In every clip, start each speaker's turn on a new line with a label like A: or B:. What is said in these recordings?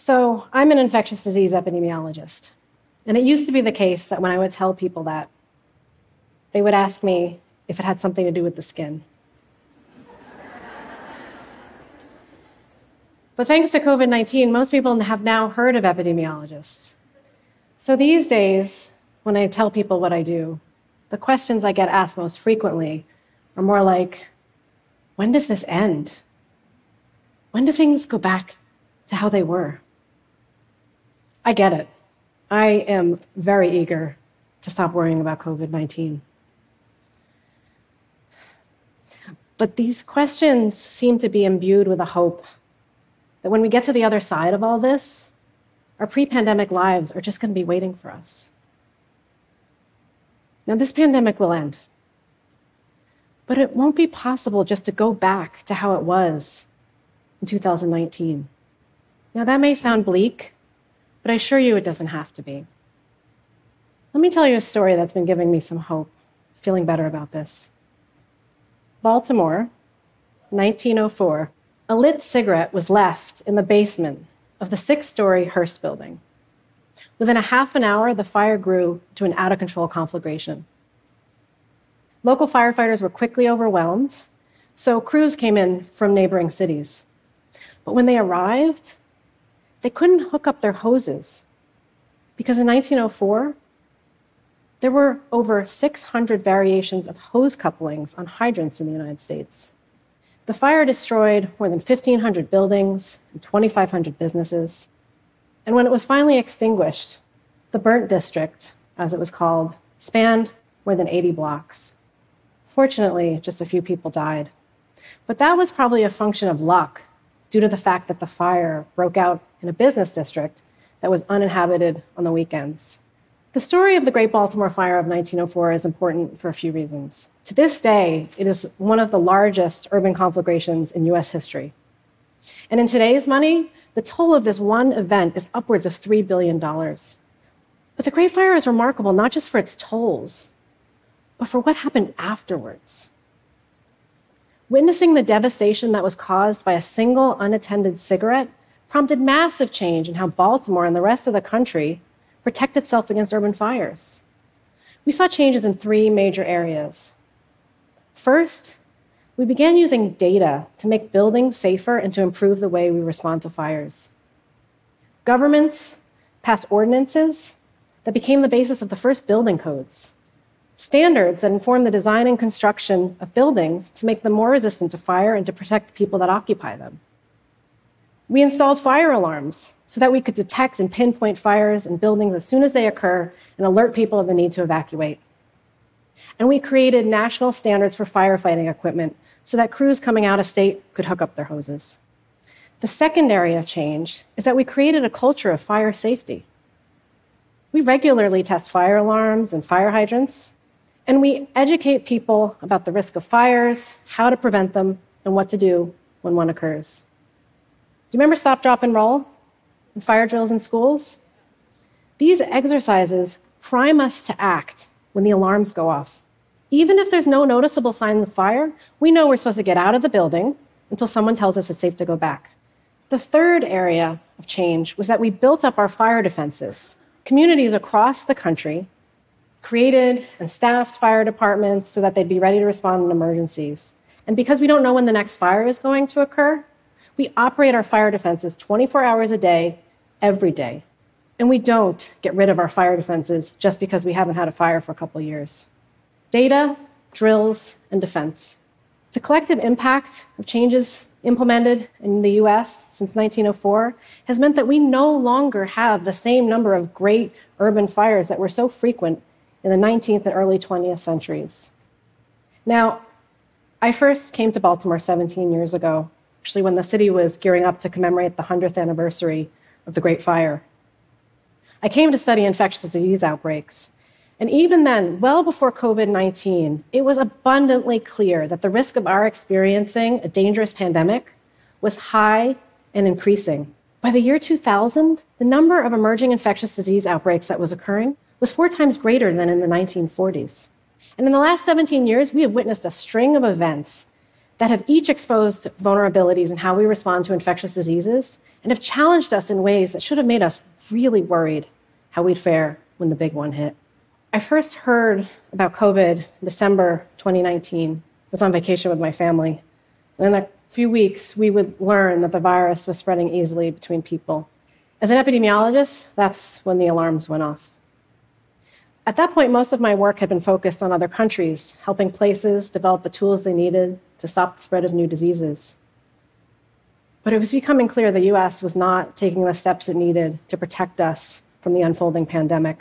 A: So I'm an infectious disease epidemiologist. And it used to be the case that when I would tell people that, they would ask me if it had something to do with the skin. But thanks to COVID-19, most people have now heard of epidemiologists. So these days, when I tell people what I do, the questions I get asked most frequently are more like, when does this end? When do things go back to how they were? I get it. I am very eager to stop worrying about COVID-19. But these questions seem to be imbued with a hope that when we get to the other side of all this, our pre-pandemic lives are just going to be waiting for us. Now, this pandemic will end, but it won't be possible just to go back to how it was in 2019. Now, that may sound bleak, but I assure you it doesn't have to be. Let me tell you a story that's been giving me some hope, feeling better about this. Baltimore, 1904, a lit cigarette was left in the basement of the 6-story Hearst building. Within a half an hour, the fire grew to an out-of-control conflagration. Local firefighters were quickly overwhelmed, so crews came in from neighboring cities. But when they arrived, they couldn't hook up their hoses because in 1904, there were over 600 variations of hose couplings on hydrants in the United States. The fire destroyed more than 1,500 buildings and 2,500 businesses. And when it was finally extinguished, the burnt district, as it was called, spanned more than 80 blocks. Fortunately, just a few people died. But that was probably a function of luck due to the fact that the fire broke out in a business district that was uninhabited on the weekends. The story of the Great Baltimore Fire of 1904 is important for a few reasons. To this day, it is one of the largest urban conflagrations in U.S. history. And in today's money, the toll of this one event is upwards of $3 billion. But the Great Fire is remarkable not just for its tolls, but for what happened afterwards. Witnessing the devastation that was caused by a single unattended cigarette prompted massive change in how Baltimore and the rest of the country protect itself against urban fires. We saw changes in 3 major areas. First, we began using data to make buildings safer and to improve the way we respond to fires. Governments passed ordinances that became the basis of the first building codes, standards that inform the design and construction of buildings to make them more resistant to fire and to protect the people that occupy them. We installed fire alarms so that we could detect and pinpoint fires in buildings as soon as they occur and alert people of the need to evacuate. And we created national standards for firefighting equipment so that crews coming out of state could hook up their hoses. The second area of change is that we created a culture of fire safety. We regularly test fire alarms and fire hydrants, and we educate people about the risk of fires, how to prevent them, and what to do when one occurs. Do you remember stop, drop, and roll and fire drills in schools? These exercises prime us to act when the alarms go off. Even if there's no noticeable signs of fire, we know we're supposed to get out of the building until someone tells us it's safe to go back. The third area of change was that we built up our fire defenses. Communities across the country created and staffed fire departments so that they'd be ready to respond in emergencies. And because we don't know when the next fire is going to occur, we operate our fire defenses 24 hours a day, every day. And we don't get rid of our fire defenses just because we haven't had a fire for a couple years. Data, drills, and defense. The collective impact of changes implemented in the US since 1904 has meant that we no longer have the same number of great urban fires that were so frequent in the 19th and early 20th centuries. Now, I first came to Baltimore 17 years ago, actually when the city was gearing up to commemorate the 100th anniversary of the Great Fire. I came to study infectious disease outbreaks. And even then, well before COVID-19, it was abundantly clear that the risk of our experiencing a dangerous pandemic was high and increasing. By the year 2000, the number of emerging infectious disease outbreaks that was occurring was 4 times greater than in the 1940s. And in the last 17 years, we have witnessed a string of events that have each exposed vulnerabilities in how we respond to infectious diseases and have challenged us in ways that should have made us really worried how we'd fare when the big one hit. I first heard about COVID in December 2019. I was on vacation with my family. And in a few weeks, we would learn that the virus was spreading easily between people. As an epidemiologist, that's when the alarms went off. At that point, most of my work had been focused on other countries, helping places develop the tools they needed to stop the spread of new diseases. But it was becoming clear the US was not taking the steps it needed to protect us from the unfolding pandemic.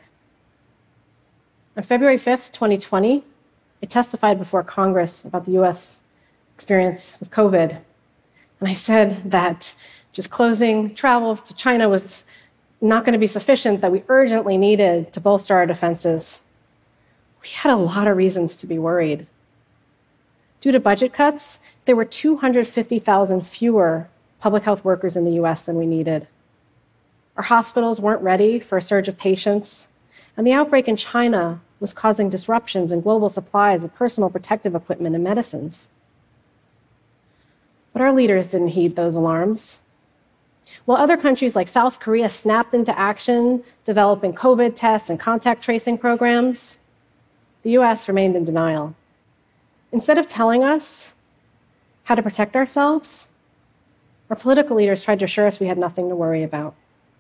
A: On February 5th, 2020, I testified before Congress about the US experience with COVID. And I said that just closing travel to China was not going to be sufficient, that we urgently needed to bolster our defenses. We had a lot of reasons to be worried. Due to budget cuts, there were 250,000 fewer public health workers in the US than we needed. Our hospitals weren't ready for a surge of patients, and the outbreak in China was causing disruptions in global supplies of personal protective equipment and medicines. But our leaders didn't heed those alarms. While other countries like South Korea snapped into action, developing COVID tests and contact tracing programs, the US remained in denial. Instead of telling us how to protect ourselves, our political leaders tried to assure us we had nothing to worry about.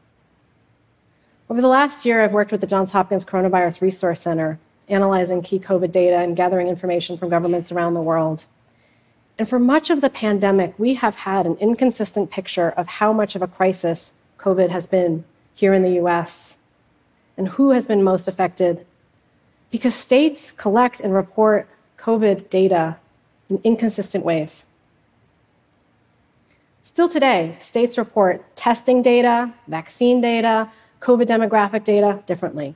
A: Over the last year, I've worked with the Johns Hopkins Coronavirus Resource Center, analyzing key COVID data and gathering information from governments around the world. And for much of the pandemic, we have had an inconsistent picture of how much of a crisis COVID has been here in the US and who has been most affected, because states collect and report COVID data in inconsistent ways. Still today, states report testing data, vaccine data, COVID demographic data differently.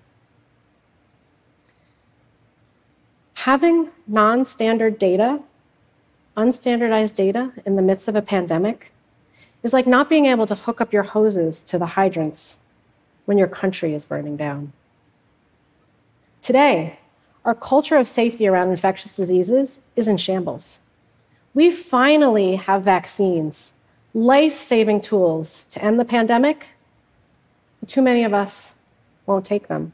A: Having non-standard data, unstandardized data in the midst of a pandemic is like not being able to hook up your hoses to the hydrants when your country is burning down. Today, our culture of safety around infectious diseases is in shambles. We finally have vaccines, life-saving tools to end the pandemic. Too many of us won't take them.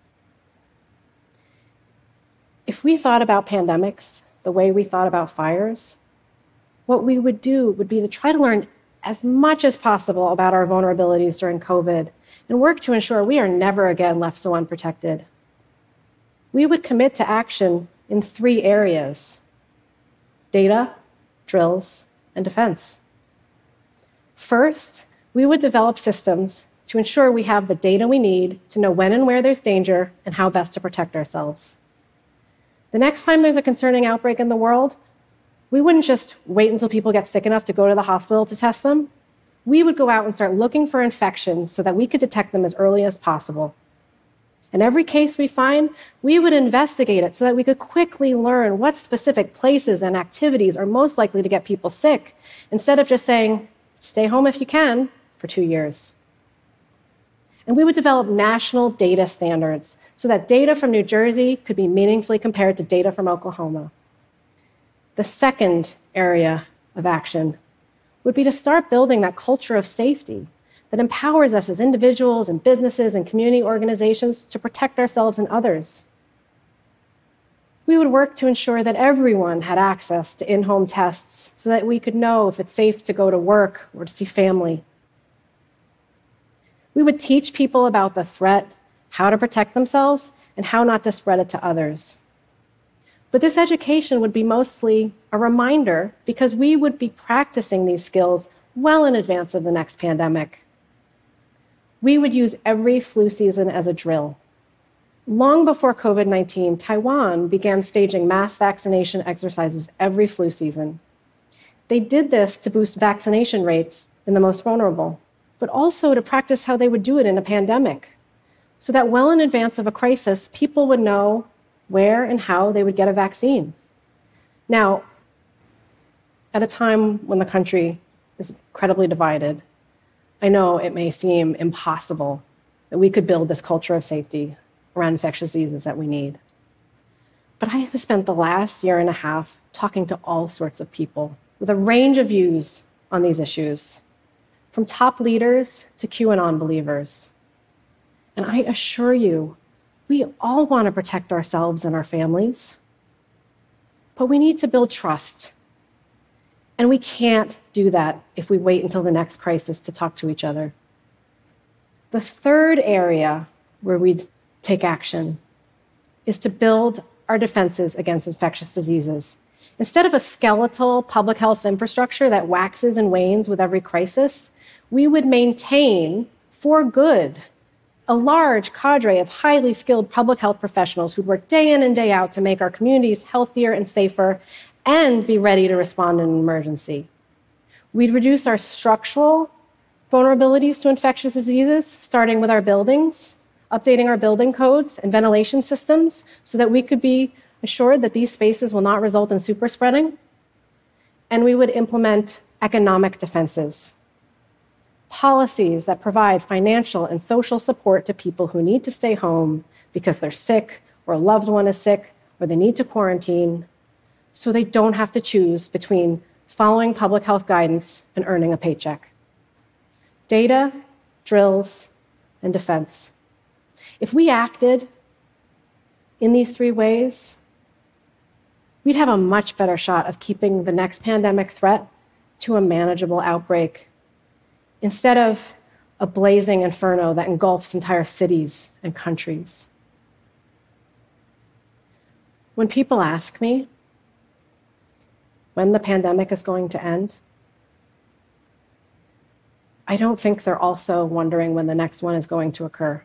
A: If we thought about pandemics the way we thought about fires, what we would do would be to try to learn as much as possible about our vulnerabilities during COVID and work to ensure we are never again left so unprotected. We would commit to action in 3 areas: data, drills, and defense. First, we would develop systems to ensure we have the data we need to know when and where there's danger and how best to protect ourselves. The next time there's a concerning outbreak in the world, we wouldn't just wait until people get sick enough to go to the hospital to test them. We would go out and start looking for infections so that we could detect them as early as possible. In every case we find, we would investigate it so that we could quickly learn what specific places and activities are most likely to get people sick, instead of just saying, stay home if you can, for 2 years. And we would develop national data standards so that data from New Jersey could be meaningfully compared to data from Oklahoma. The second area of action would be to start building that culture of safety that empowers us as individuals and businesses and community organizations to protect ourselves and others. We would work to ensure that everyone had access to in-home tests so that we could know if it's safe to go to work or to see family. We would teach people about the threat, how to protect themselves, and how not to spread it to others. But this education would be mostly a reminder because we would be practicing these skills well in advance of the next pandemic. We would use every flu season as a drill. Long before COVID-19, Taiwan began staging mass vaccination exercises every flu season. They did this to boost vaccination rates in the most vulnerable, but also to practice how they would do it in a pandemic, so that well in advance of a crisis, people would know where and how they would get a vaccine. Now, at a time when the country is incredibly divided, I know it may seem impossible that we could build this culture of safety around infectious diseases that we need. But I have spent the last year and a half talking to all sorts of people with a range of views on these issues, from top leaders to QAnon believers. And I assure you, we all want to protect ourselves and our families. But we need to build trust. And we can't do that if we wait until the next crisis to talk to each other. The third area where we'd take action is to build our defenses against infectious diseases. Instead of a skeletal public health infrastructure that waxes and wanes with every crisis, we would maintain, for good, a large cadre of highly skilled public health professionals who'd work day in and day out to make our communities healthier and safer and be ready to respond in an emergency. We'd reduce our structural vulnerabilities to infectious diseases, starting with our buildings, updating our building codes and ventilation systems so that we could be assured that these spaces will not result in super spreading. And we would implement economic defenses, policies that provide financial and social support to people who need to stay home because they're sick or a loved one is sick or they need to quarantine, so they don't have to choose between following public health guidance and earning a paycheck. Data, drills, and defense. If we acted in these three ways, we'd have a much better shot of keeping the next pandemic threat to a manageable outbreak instead of a blazing inferno that engulfs entire cities and countries. When people ask me when the pandemic is going to end, I don't think they're also wondering when the next one is going to occur.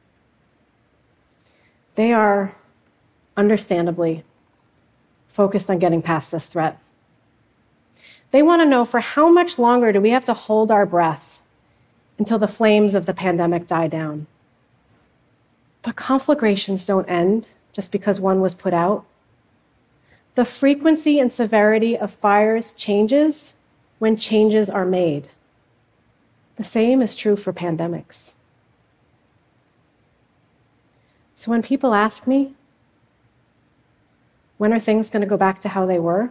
A: They are, understandably, focused on getting past this threat. They want to know, for how much longer do we have to hold our breath until the flames of the pandemic die down? But conflagrations don't end just because one was put out. The frequency and severity of fires changes when changes are made. The same is true for pandemics. So when people ask me, when are things going to go back to how they were?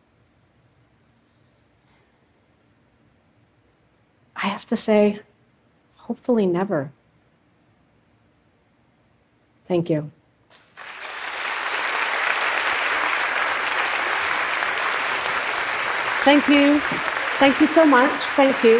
A: I have to say, hopefully never. Thank you.
B: Thank you. Thank you so much. Thank you.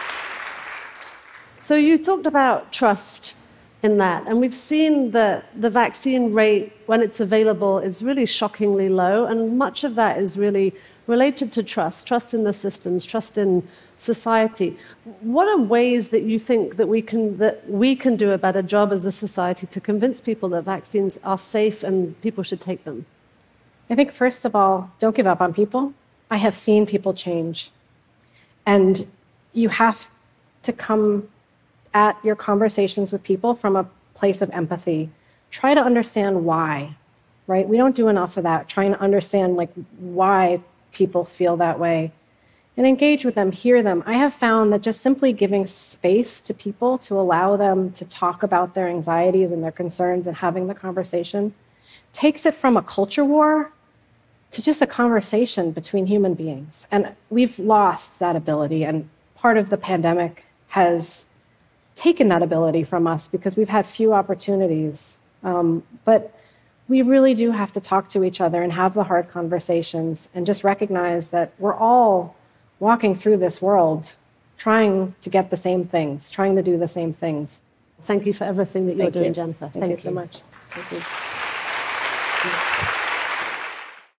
B: So you talked about trust in that, and we've seen that the vaccine rate, when it's available, is really shockingly low, and much of that is really related to trust in the systems, trust in society. What are ways that you think that we can do a better job as a society to convince people that vaccines are safe and people should take them?
A: I think, first of all, don't give up on people. I have seen people change. And you have to come at your conversations with people from a place of empathy. Try to understand why, right? We don't do enough of that, trying to understand why people feel that way. And engage with them, hear them. I have found that just simply giving space to people to allow them to talk about their anxieties and their concerns and having the conversation takes it from a culture war to just a conversation between human beings. And we've lost that ability, and part of the pandemic has taken that ability from us because we've had few opportunities. But we really do have to talk to each other and have the hard conversations and just recognize that we're all walking through this world trying to get the same things, trying to do the same things.
B: Thank you for everything that you're doing, Jennifer.
A: Thank you so much. Thank you.